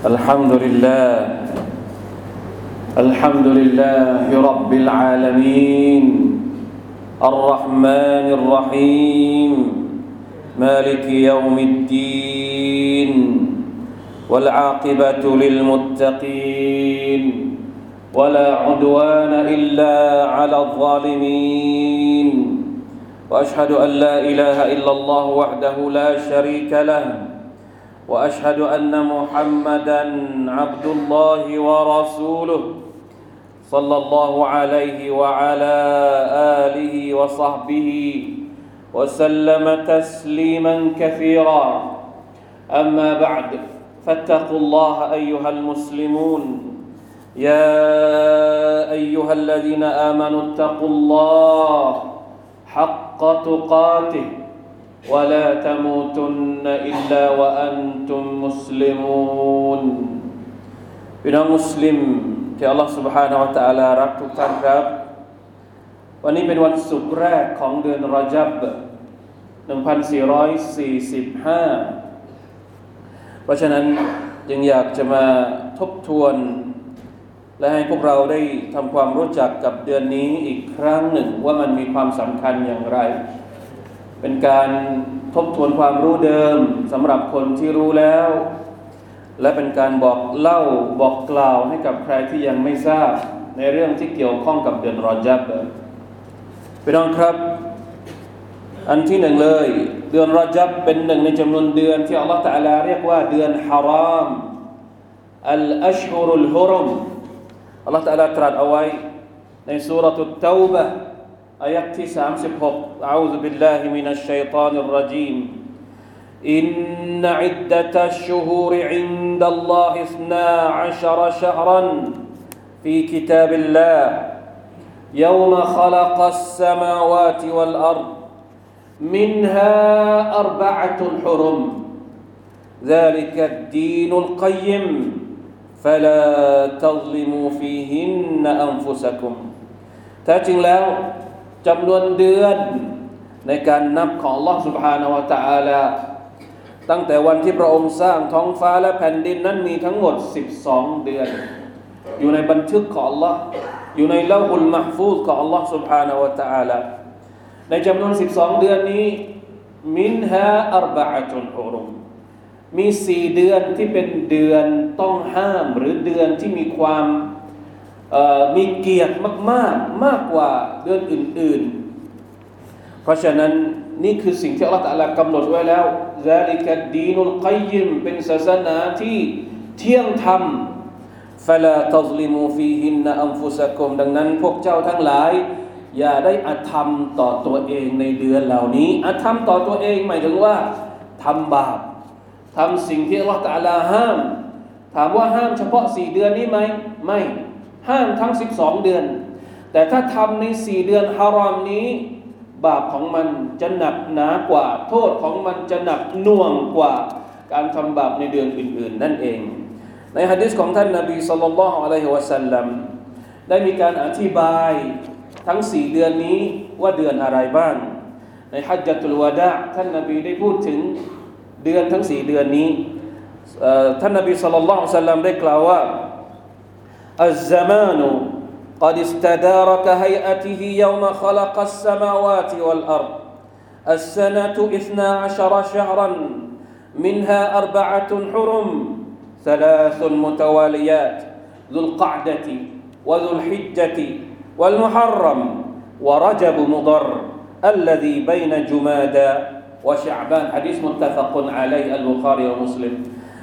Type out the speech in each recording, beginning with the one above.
الحمد لله الحمد لله رب العالمين الرحمن الرحيم مالك يوم الدين والعاقبة للمتقين ولا عدوان إلا على الظالمين وأشهد أن لا إله إلا الله وحده لا شريك له وأشهد أن محمدًا عبد الله ورسوله صلى الله عليه وعلى آله وصحبه وسلم تسليمًا كثيرًا أما بعد فاتقوا الله أيها المسلمون يا أيها الذين آمنوا اتقوا الله حق تقاته ولا تموتن إلا وأنتم مسلمون พี่น้องมุสลิมที่อัลลอฮฺ سبحانه และ تعالى รักทุกท่านครับวันนี้เป็นวันศุกร์แรกของเดือนรอญับ1445เพราะฉะนั้นจึงอยากจะมาทบทวนและให้พวกเราได้ทำความรู้จักกับเดือนนี้อีกครั้งหนึ่งว่ามันมีความสำคัญอย่างไรเป็นการทบทวนความรู้เดิมสำหรับคนที่รู้แล้วและเป็นการบอกเล่าบอกกล่าวให้กับใครที่ยังไม่ทราบในเรื่องที่เกี่ยวข้องกับเดือนรอญับพี่น้องครับอันที่หนึ่งเลยเดือนรอญับเป็นหนึ่งในจำนวนเดือนที่อัลลอฮฺตะอาลาเรียกว่าเดือนฮารอมอัลอัชฮุรุลฮุรุมอัลลอฮฺตะอาลาตรัสเอาไว้ในซูเราะตุตเตาบะห์อายะห์ที่36อะอูซุบิลลาฮิมินัชชัยฏอนิรเราะญีมอินนะอิดดะตัชชุฮูรอินดัลลอฮิ12ชะฮรันฟีกิตาบิลลาฮ์يوم خلق السماوات والأرض منها أربعة حرم ذلك الدين القيم فلا تظلموا فيهن أنفسكم แท้จริงแล้วจำนวนเดือนในการนับของ Allah سبحانه และ تعالى ตั้งแต่วันที่พระองค์สร้างท้องฟ้าและแผ่นดินนั้นมีทั้งหมด12เดือนอยู่ในบันทึกของ Allah อยู่ในลอฮุลมะห์ฟูซของ Allah سبحانه และ تعالى ในจำนวน12เดือนนี้มินฮาอัรบะอะตุนฮุรุมมี4เดือนที่เป็นเดือนต้องห้ามหรือเดือนที่มีความมีเกียรติมากๆมากกว่าเดือนอื่นๆเพราะฉะนั้นนี่คือสิ่งที่อัลเลาะห์ตะอาลากำหนดไว้แล้วซาลิกัดดีนุลกัยยิมเป็นศาสนาที่เที่ยงธรรมฟะลาตัซลิมูฟีฮินนะอันฟุซะกุมดังนั้นพวกเจ้าทั้งหลายอย่าได้อธรรมต่อตัวเองในเดือนเหล่านี้อธรรมต่อตัวเองหมายถึงว่าทำบาปทำสิ่งที่อัลเลาะห์ตะอาลาห้ามถามว่าห้ามเฉพาะ4เดือนนี้ไหมไม่ห้ามทั้ง12เดือนแต่ถ้าทำใน4เดือนฮารอมนี้บาปของมันจะหนักหนากว่าโทษของมันจะหนักหน่วงกว่าการทำบาปในเดือนอื่นๆนั่นเองในหะดีษของท่านนบีศ็อลลัลลอฮุอะลัยฮิวะซัลลัมได้มีการอธิบายทั้ง4เดือนนี้ว่าเดือนอะไรบ้างในฮัจญะตุลวะดาท่านนบีได้พูดถึงเดือนทั้ง4เดือนนี้ท่านนบีศ็อลลัลลอฮุอะลัยฮิวะซัลลัมได้กล่าวว่าالزمان قد استدار كهيئته يوم خلق السماوات والأرض السنة 12 شهرا منها 4 حرم 3 متواليات ذو القعدة وذو الحجة والمحرم ورجب مضر الذي بين جمادى وشعبان حديث متفق عليه البخاري ومسلم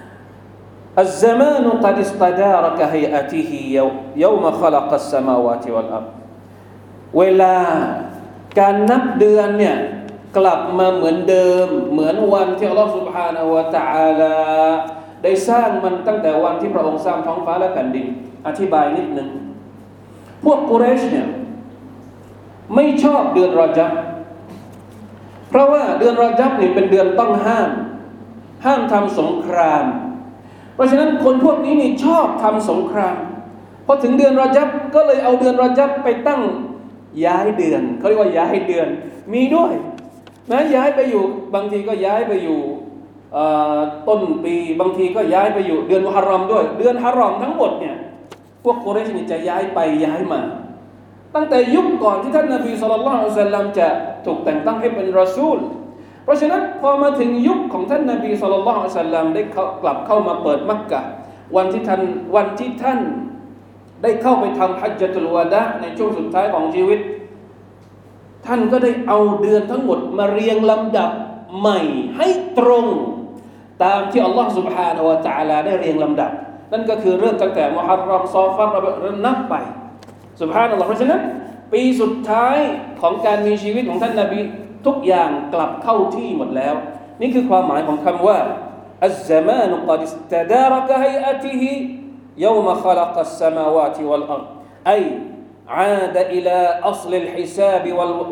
الزمان قد استدار كهيئته يوم خلق السماوات والأرض เวลาการนับเดือนเนี่ยกลับมาเหมือนเดิมเหมือนวันที่อัลเลาะห์ซุบฮานะฮูวะตะอาลาได้สร้างมันตั้งแต่วันที่พระองค์สร้างท้องฟ้าและแผ่นดินอธิบายนิดนึงพวกกุเรชเนี่ยไม่ชอบเดือนรอญับเพราะว่าเดือนรอญับนี่เป็นเดือนต้องห้ามทำสงครามเพราะฉะนั้นคนพวกนี้นี่ชอบทำสงครามพอถึงเดือนรอญับก็เลยเอาเดือนรอญับไปตั้งย้ายเดือนเขาเรียกว่าย้ายเดือนมีด้วยนะย้ายไปอยู่บางทีก็ย้ายไปอยู่ต้นปีบางทีก็ย้ายไปอยู่เดือนมุฮัรรอมด้วยเดือนฮารอมทั้งหมดเนี่ยพวกกุเรชนี่จะย้ายไปย้ายมาตั้งแต่ยุคก่อนที่ท่านนบีศ็อลลัลลอฮุอะลัยฮิวะซัลลัมจะถูกแต่งตั้งให้เป็นรอซูลเพราะฉะนั้นพอมาถึงยุคของท่านนบีศ็อลลัลลอฮุอะลัยฮิวะซัลลัมได้กลับเข้ามาเปิดมักกะฮ์วันที่ท่านได้เข้าไปทำฮัจญะตุลวะดะห์ในช่วงสุดท้ายของชีวิตท่านก็ได้เอาเดือนทั้งหมดมาเรียงลำดับใหม่ให้ตรงตามที่อัลลอฮฺ سبحانه และ تعالى ได้เรียงลำดับนั่นก็คือเริ่มตั้งแต่มุฮัรรอมซอฟัรนับไปซุบฮานัลลอฮฺเพราะฉะนั้นปีสุดท้ายของการมีชีวิตของท่านนบีทุกอย่างกลับเข้าที่หมดแล้วนี่คือความหมายของคำว่าอัซซะมานุกอดิสตะดาระกะฮัยอะติฮิيوم خلق السماوات والأرض أي عاد إلى أصل الحساب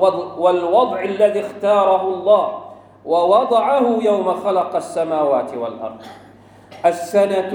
والوضع الذي اختاره الله ووضعه يوم خلق السماوات والأرض السنة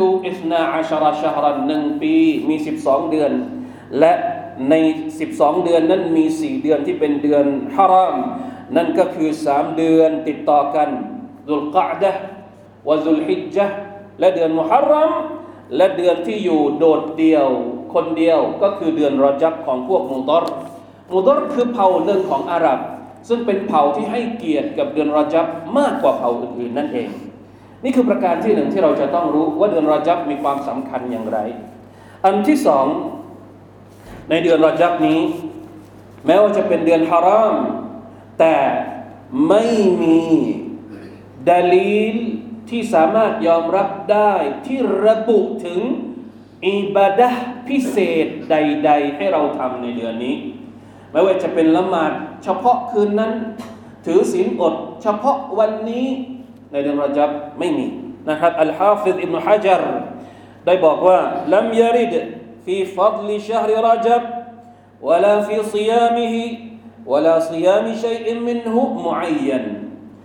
12 شهرا 1 ปีมี 12 เดือนและใน 12 เดือนนั้นมี 4 เดือนที่เป็นเดือนฮารอมนั่นก็คือ 3 เดือนติดต่อกันซุลกออดะห์วะซุลฮิจญะห์และเดือนมุฮัรรอมและเดือนที่อยู่โดดเดี่ยวคนเดียวก็คือเดือนรอญับของพวกมุฎอรคือเผ่าหนึ่งของอาหรับซึ่งเป็นเผ่าที่ให้เกียรติกับเดือนรอญับมากกว่าเผ่าอื่นๆนั่นเองนี่คือประการที่หนึ่งที่เราจะต้องรู้ว่าเดือนรอญับมีความสำคัญอย่างไรอันที่สองในเดือนรอญับนี้แม้ว่าจะเป็นเดือนฮารอมแต่ไม่มีดะลีลที่สามารถยอมรับได้ที่ระบุถึงอิบาดะห์พิเศษใดๆให้เราทำในเดือนนี้ไม่ว่าจะเป็นละหมาดเฉพาะคืนนั้นถือศีลอดเฉพาะวันนี้ในเดือนรอญับไม่มีนะครับอัลฮาฟิซอิบนุฮะญัรได้บอกว่าลัมยะริดฟีฟัฎลิชะฮริรอญับวะลาฟีศิยามิฮิวะลาศิยามิชัยอินมินฮุมุอัยยัน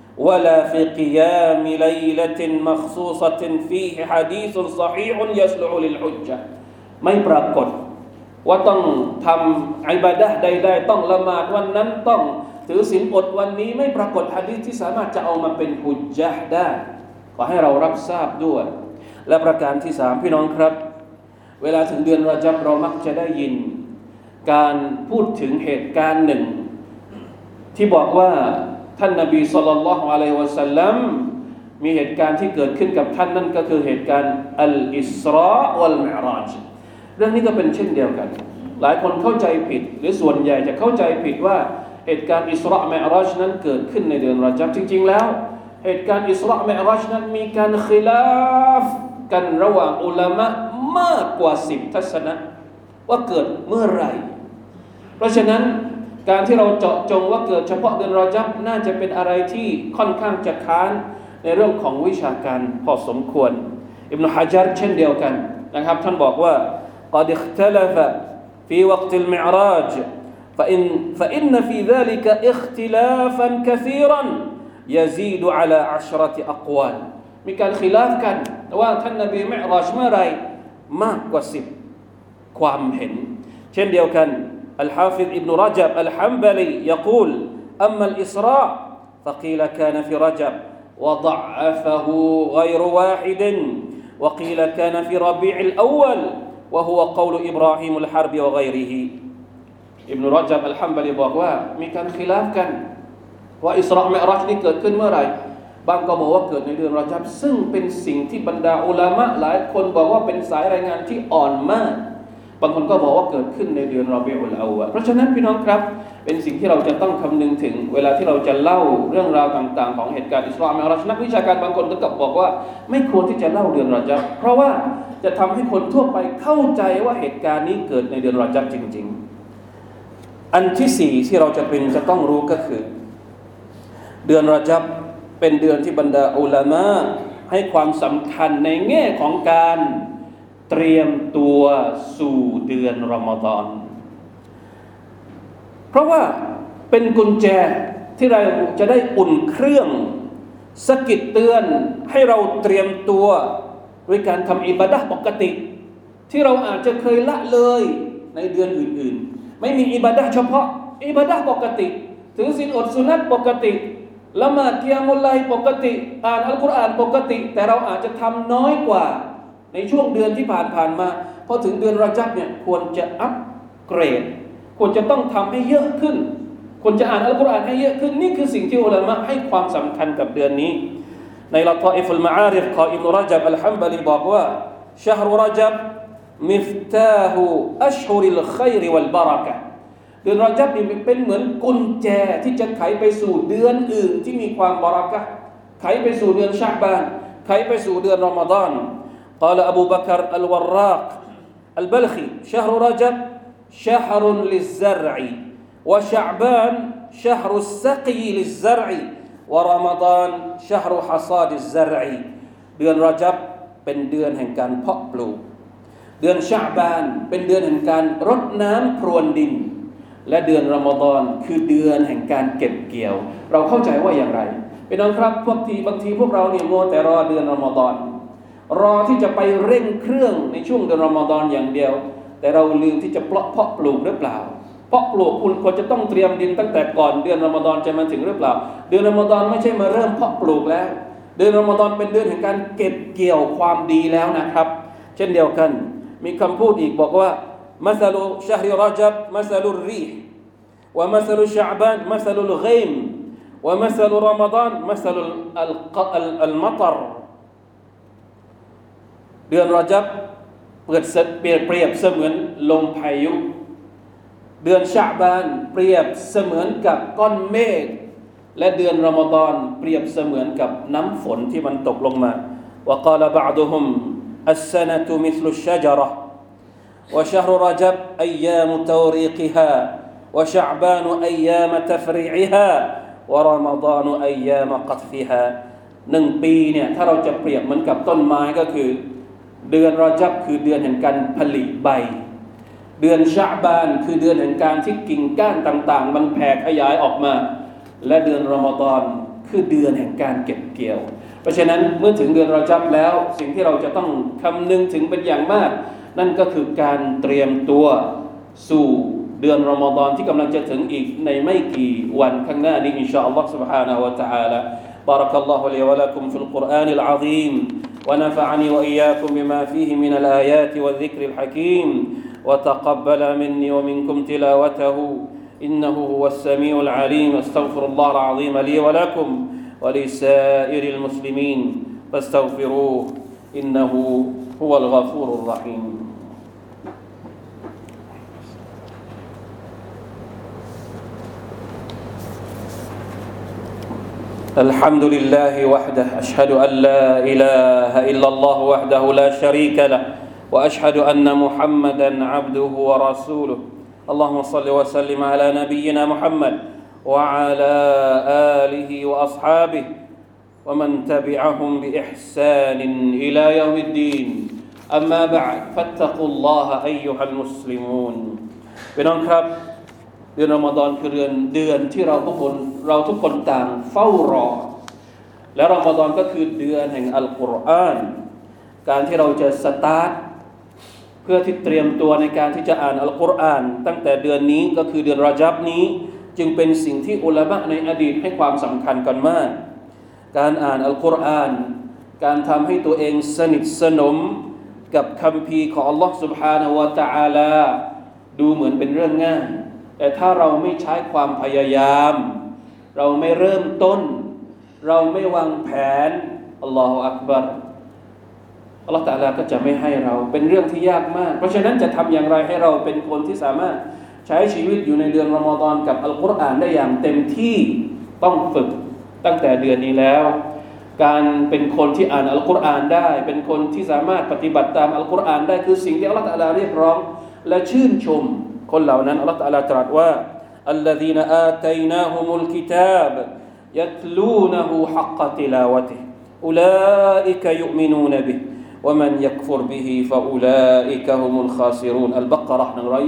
ولا في قيام ليلة مخصوصة فيه حديث صحيح يصلح للحجة ไม่ปรากฏว่าต้องทำอิบาดะห์ใดๆต้องละหมาดวันนั้นต้องถือศีลอดวันนี้ไม่ปรากฏหะดีษที่สามารถจะเอามาเป็นฮุจญะห์ได้ขอให้เรารับทราบด้วยและประการที่3พี่น้องครับเวลาถึงเดือนรอญับเรามักจะได้ยินการพูดถึงเหตุการณ์หนึ่งที่บอกว่าท่านนบีศ็อลลัลลอฮุอะลัยฮิวะซัลลัมมีเหตุการณ์ที่เกิดขึ้นกับท่านนั่นก็คือเหตุการณ์อัลอิสราวัลมิอราจเรื่องนี้ก็เป็นเช่นเดียวกันหลายคนเข้าใจผิดหรือส่วนใหญ่จะเข้าใจผิดว่าเหตุการณ์อิสรามิอราจนั้นเกิดขึ้นในเดือนรอญับจริงๆแล้วเหตุการณ์อิสรามิอราจนั้นมีการคิลาฟกันระหว่างอุลามะมากกว่า10ทัศนะว่าเกิดเมื่อไหร่เพราะฉะนั้นการที่เราเจาะจงว่าเกิดเฉพาะเดือนรอญับน่าจะเป็นอะไรที่ค่อนข้างจะค้านในเรื่องของวิชาการพอสมควรอิบนุฮะญัรเช่นเดียวกันนะครับท่านบอกว่า قد اختلف في وقت المعراج فإن في ذلك اختلافا كثيرا يزيد على 10 أقوال มีการคิลาฟกันว่าท่านนบีมิอราจเมื่อไรมากกว่า10ความเห็นเช่นเดียวกันالحافظ ابن رجب الحنبلي يقول أما الإسراء فقيل كان في رجب وضعفه غير واحد وقيل كان في ربيع الأول وهو قول إبراهيم الحرب وغيره ابن رجب الحنبلي บอกว่ามีการคิลาฟกันว่าอิสรามิอราจนี่เกิดขึ้นเมื่อไหร่บางก็บอกว่าเกิดในเดือนรอญับซึ่งเป็นสิ่งที่บรรดาอุลามะหลายคนบอกว่าเป็นสายรายงานที่อ่อนมากบางคนก็บอกว่าเกิดขึ้นในเดือนรอบิอุลเอาวะลเพราะฉะนั้นพี่น้องครับเป็นสิ่งที่เราจะต้องคำนึงถึงเวลาที่เราจะเล่าเรื่องราวต่างๆของเหตุการณ์อิสรามิอราจนักวิชาการบางคนก็บอกว่าไม่ควรที่จะเล่าเดือนรอญับเพราะว่าจะทำให้คนทั่วไปเข้าใจว่าเหตุการณ์นี้เกิดในเดือนรอญับจริงๆอันที่4ที่เราจะต้องรู้ก็คือเดือนรอญับเป็นเดือนที่บรรดาอุลามะให้ความสำคัญในแง่ของการเตรียมตัวสู่เดือนรอมฎอนเพราะว่าเป็นกุญแจที่เราจะได้อุ่นเครื่องสะกิดเตือนให้เราเตรียมตัวด้วยการทำอิบาดะห์ปกติที่เราอาจจะเคยละเลยในเดือนอื่นๆไม่มีอิบาดะห์เฉพาะอิบาดะห์ปกติถือศีลอดสุนัตปกติละหมาดกิยามุลไลล์ปกติอ่านอัลกุรอานปกติแต่เราอาจจะทำน้อยกว่าในช่วงเดือนที่ผ่านมาพอถึงเดือนรอญับเนี่ยควรจะอัปเกรดควรจะต้องทำให้เยอะขึ้นควรจะอ่านอัลกุรอานให้เยอะขึ้นนี่คือสิ่งที่อุลามะให้ความสำคัญกับเดือนนี้ในละฏออิฟุลมะอาริฟของอิบนุรญับอัลฮัมบะลีบอกว่าชะฮรุรญับมิฟตาฮุอัชฮุริลค็อยรวัลบะเราะกะฮ์เดือนรอญับนี่เป็นเหมือนกุญแจที่จะไขไปสู่เดือนอื่นที่มีความบะเราะกะฮ์ไขไปสู่เดือนชะบานไขไปสู่เดือนรอมฎอนقال أبو بكر الوراق البلخي شهر رجب شهر للزرع وشعبان شهر السقي للزرع ورمضان شهر حصاد الزرع เดือนรอญับเป็นเดือนแห่งการเพาะปลูกเดือนชะบานเป็นเดือนแห่งการรดน้ำพรวนดินและเดือนรอมฎอนคือเดือนแห่งการเก็บเกี่ยวเราเข้าใจว่าอย่างไรพี่น้องครับบางทีพวกเราเนี่ยมัวแต่รอเดือนรอมฎอนรอที่จะไปเร่งเครื่องในช่วงเดือนรอมฎอนอย่างเดียวแต่เราลืมที่จะเพาะปลูกหรือเปล่าเพาะปลูกคุณควรจะต้องเตรียมดินตั้งแต่ก่อนเดือนรอมฎอนจะมาถึงหรือเปล่าเดือนรอมฎอนไม่ใช่มาเริ่มเพาะปลูกแล้วเดือนรอมฎอนเป็นเดือนแห่งการเก็บเกี่ยวความดีแล้วนะครับเช่นเดียวกันมีคำพูดอีกบอกว่ามัสลุชะฮริรอญับมัสลุรรีห์วะมัสลุชะอ์บานมัสลุลฆอยมวะมัสลุรอมฎอนมัสลุอัลมัตรเดือนรอญับเปรียบเสมือนลมพายุเดือนชะบานเปรียบเสมือนกับก้อนเมฆและเดือนรอมฎอนเปรียบเสมือนกับน้ำฝนที่มันตกลงมาวะกาลบะอ์ดุฮุมอัสซะนะตุมิษลุชชะญะเราะห์วะชะฮรุรอญับอัยยามตาวรีกิฮาวะชะอ์บานอัยยามตัฟรีอิฮาวะรอมฎอนอัยยามกัฏฟิฮา1ปีเนี่ยถ้าเราจะเปรียบเหมือนกับต้นไม้ก็คือเดือนรอญับคือเดือนแห่งการผลิใบเดือนชะบานคือเดือนแห่งการที่กิ่งก้านต่างๆมันแผ่ขยายออกมาและเดือนรอมฎอนคือเดือนแห่งการเก็บเกี่ยวเพราะฉะนั้นเมื่อถึงเดือนรอญับแล้วสิ่งที่เราจะต้องคำนึงถึงเป็นอย่างมากนั่นก็คือการเตรียมตัวสู่เดือนรอมฎอนที่กำลังจะถึงอีกในไม่กี่วันข้างหน้านี้อินชาอัลลอฮฺ سبحانه และ تعالى بارك الله لي ولكم في القرآن العظيم ونفعني وإياكم بما فيه من الآيات والذكر الحكيم وتقبل مني ومنكم تلاوته إنه هو السميع العليم استغفر الله العظيم لي ولكم ولسائر المسلمين فاستغفروه إنه هو الغفور الرحيم الحمد لله وحده أشهد أن لا إله إلا الله وحده لا شريك له وأشهد أن محمدا عبده ورسوله اللهم صل وسلم على نبينا محمد وعلى آله وأصحابه ومن تبعهم بإحسان إلى يوم الدين أما بعد فاتقوا الله أيها المسلمون พี่น้องครับเดือนรอมฎอนคือเดือนที่เราทุกคนต่างเฝ้ารอและรอมฎอนก็คือเดือนแห่งอัลกุรอานการที่เราจะสตาร์ทเพื่อที่เตรียมตัวในการที่จะอ่านอัลกุรอานตั้งแต่เดือนนี้ก็คือเดือนรอญับนี้จึงเป็นสิ่งที่อุลามะในอดีตให้ความสำคัญกันมากการอ่านอัลกุรอานการทำให้ตัวเองสนิทสนมกับคัมภีร์ของอัลลอฮฺ سبحانه และ تعالى ดูเหมือนเป็นเรื่องง่ายแต่ถ้าเราไม่ใช้ความพยายามเราไม่เริ่มต้นเราไม่วางแผนอัลลอฮฺอักบัรอัลลอฮฺตะอาลาก็จะไม่ให้เราเป็นเรื่องที่ยากมากเพราะฉะนั้นจะทำอย่างไรให้เราเป็นคนที่สามารถใช้ชีวิตอยู่ในเดือนรอมฎอนกับอัลกุรอานได้อย่างเต็มที่ต้องฝึกตั้งแต่เดือนนี้แล้วการเป็นคนที่อ่านอัลกุรอานได้เป็นคนที่สามารถปฏิบัติตามอัลกุรอานได้คือสิ่งที่อัลลอฮฺตะอาลาเรียกร้องและชื่นชมคนเหล่านั้นอัลลอฮฺตะอาลาตรัสว่า الذين آتيناهم الكتاب يتلونه حق تلاوته أولئك يؤمنون به ومن يكفر به فأولئك هم الخاسرون البقرة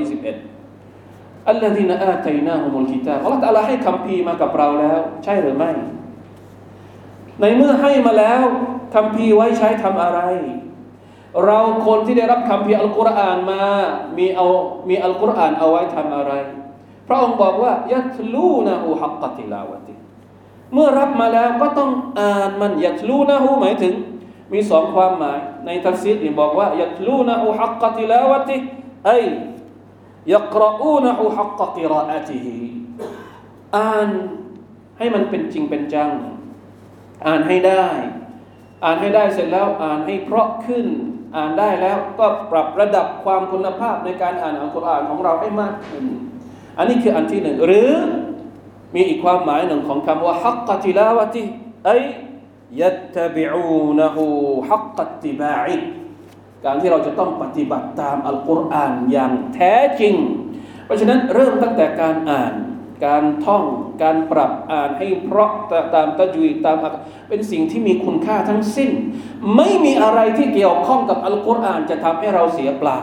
121 الذين آتيناهم الكتاب อัลลอฮฺตะอาลาให้คัมภีร์มากับเราแล้วใช่หรือไม่ในเมื่อให้มาแล้วคัมภีร์ไว้ใช้ทำอะไรเราคนที่ได้รับคัมภีร์อัลกุรอานมามีอัลกุรอานเอาไว้ทำอะไรพระองค์บอกว่ายัตลูนะฮูฮักกะติลาวะติเมื่อรับมาแล้วก็ต้องอ่านมันยัตลูนะฮูหมายถึงมีสองความหมายในตัฟซีรนี่บอกว่ายัตลูนะฮูฮักกะติลาวะติไอยักรออูนะฮูฮักกะกิรออะติฮิอ่านให้มันเป็นจริงเป็นจังอ่านให้ได้เสร็จแล้วอ่านให้เพราะขึ้นอ่านได้แล้วก็ปรับระดับความคุณภาพในการอ่านอัลกุรอานของเราให้มากขึ้นอันนี้คืออันที่หนึ่งหรือมีอีกความหมายหนึ่งของคำว่าฮักกะติลาวะติไอยัตตะบิอูนะฮูฮักกะติบาอิการที่เราจะต้องปฏิบัติตามอัลกุรอานอย่างแท้จริงเพราะฉะนั้นเริ่มตั้งแต่การอ่านการท่องการปรับอ่านให้เพราะตามตะจุยตามเป็นสิ่งที่มีคุณค่าทั้งสิ้นไม่มีอะไรที่เกี่ยวข้องกับอัลกุรอานจะทำให้เราเสียเปล่า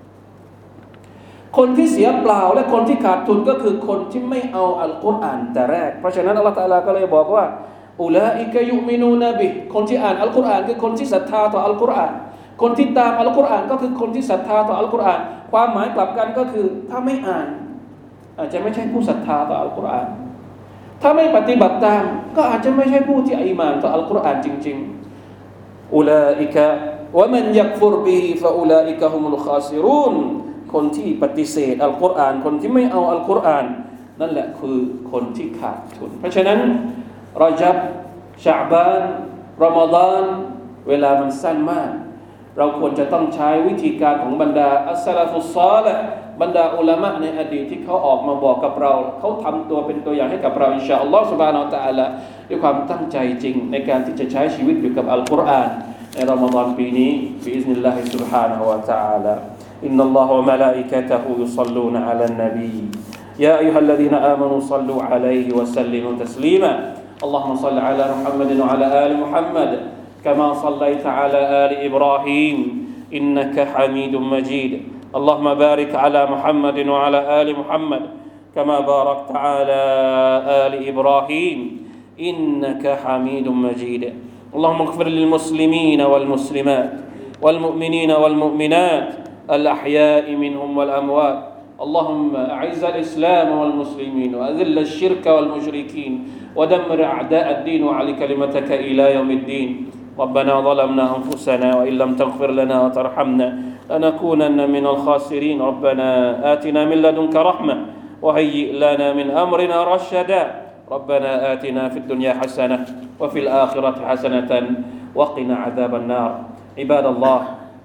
คนที่เสียเปล่าและคนที่ขาดทุนก็คือคนที่ไม่เอาอัลกุรอานแต่แรกเพราะฉะนั้นอัลเลาะห์ตะอาลาก็เลยบอกว่าอุลาอิกะยุมินูนะบิคนที่อ่านอัลกุรอานคือคนที่ศรัทธาต่ออัลกุรอานคนที่ตามอัลกุรอานก็คือคนที่ศรัทธาต่ออัลกุรอานความหมายกลับกันก็คือถ้าไม่อ่านอาจจะไม่ใช่ผู้ศรัทธาต่ออัลกุรอานถ้าไม่ปฏิบัติตามก็อาจจะไม่ใช่ผู้ที่อีหม่านต่ออัลกุรอานจริงๆอุลาอิกะวะมันยักฟุรบิฮิฟะอุลาอิกะฮุมุลคาซิรูนคนที่ปฏิเสธอัลกุรอานคนที่ไม่เอาอัลกุรอานนั่นแหละคือคนที่ขาดทุนเพราะฉะนั้นรอญับชะบานรอมฎอนเวลามันสั้นมากเราควรจะต้องใช้วิธีการของบรรดาอัสซะลาฟุศศอลิฮ์บรรดาอุลามะในอดีตที่เขาออกมาบอกกับเราเขาทำตัวเป็นตัวอย่างให้กับเราอินชาอัลลอฮฺซุบฮานะฮูวะตะอาลาด้วยความตั้งใจจริงในการที่จะใช้ชีวิตอยู่กับอัลกุรอานในรอมฎอนปีนี้บิอิซนิลลาฮิซุบฮานะฮูวะตะอาลาอินนัลลอฮะวะมะลาอิกะตุฮุยุศ็อลลูนอะลันนบียาอัยยูฮัลลซีนาอามานูศ็อลลูอะลัยฮิวะซัลลิมูตัสลีมา اللهم صل على محمد وعلى آل محمد كما صليت على آل إبراهيم إنك حميد مجيد اللهم بارك على محمد وعلى آل محمد كما باركت على آل إبراهيم إنك حميد مجيد اللهم اغفر للمسلمين والمسلمات والمؤمنين والمؤمنات الأحياء منهم والأموات اللهم أعز الإسلام والمسلمين وأذل الشرك والمشركين ودمر أعداء الدين وعلي كلمتك إلى يوم الدين ربنا ظلمنا أنفسنا وإن لم تغفر لنا وترحمنا لنكونن من الخاسرين ربنا آتنا من لدنك رحمة وهيئ لنا من أمرنا رشدا ربنا آتنا في الدنيا حسنة وفي الآخرة حسنة وقنا عذاب النار عباد الله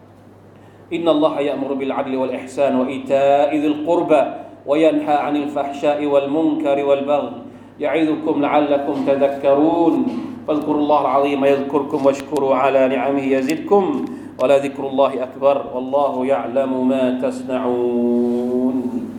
إن الله يأمر بالعدل والإحسان وإيتاء ذي القربى وينهى عن الفحشاء والمنكر والبغي يعظكم لعلكم تذكرون فاذكروا الله العظيم يذكركم واشكروا على نعمه يزدكم ولذكر الله أكبر والله يعلم ما تصنعون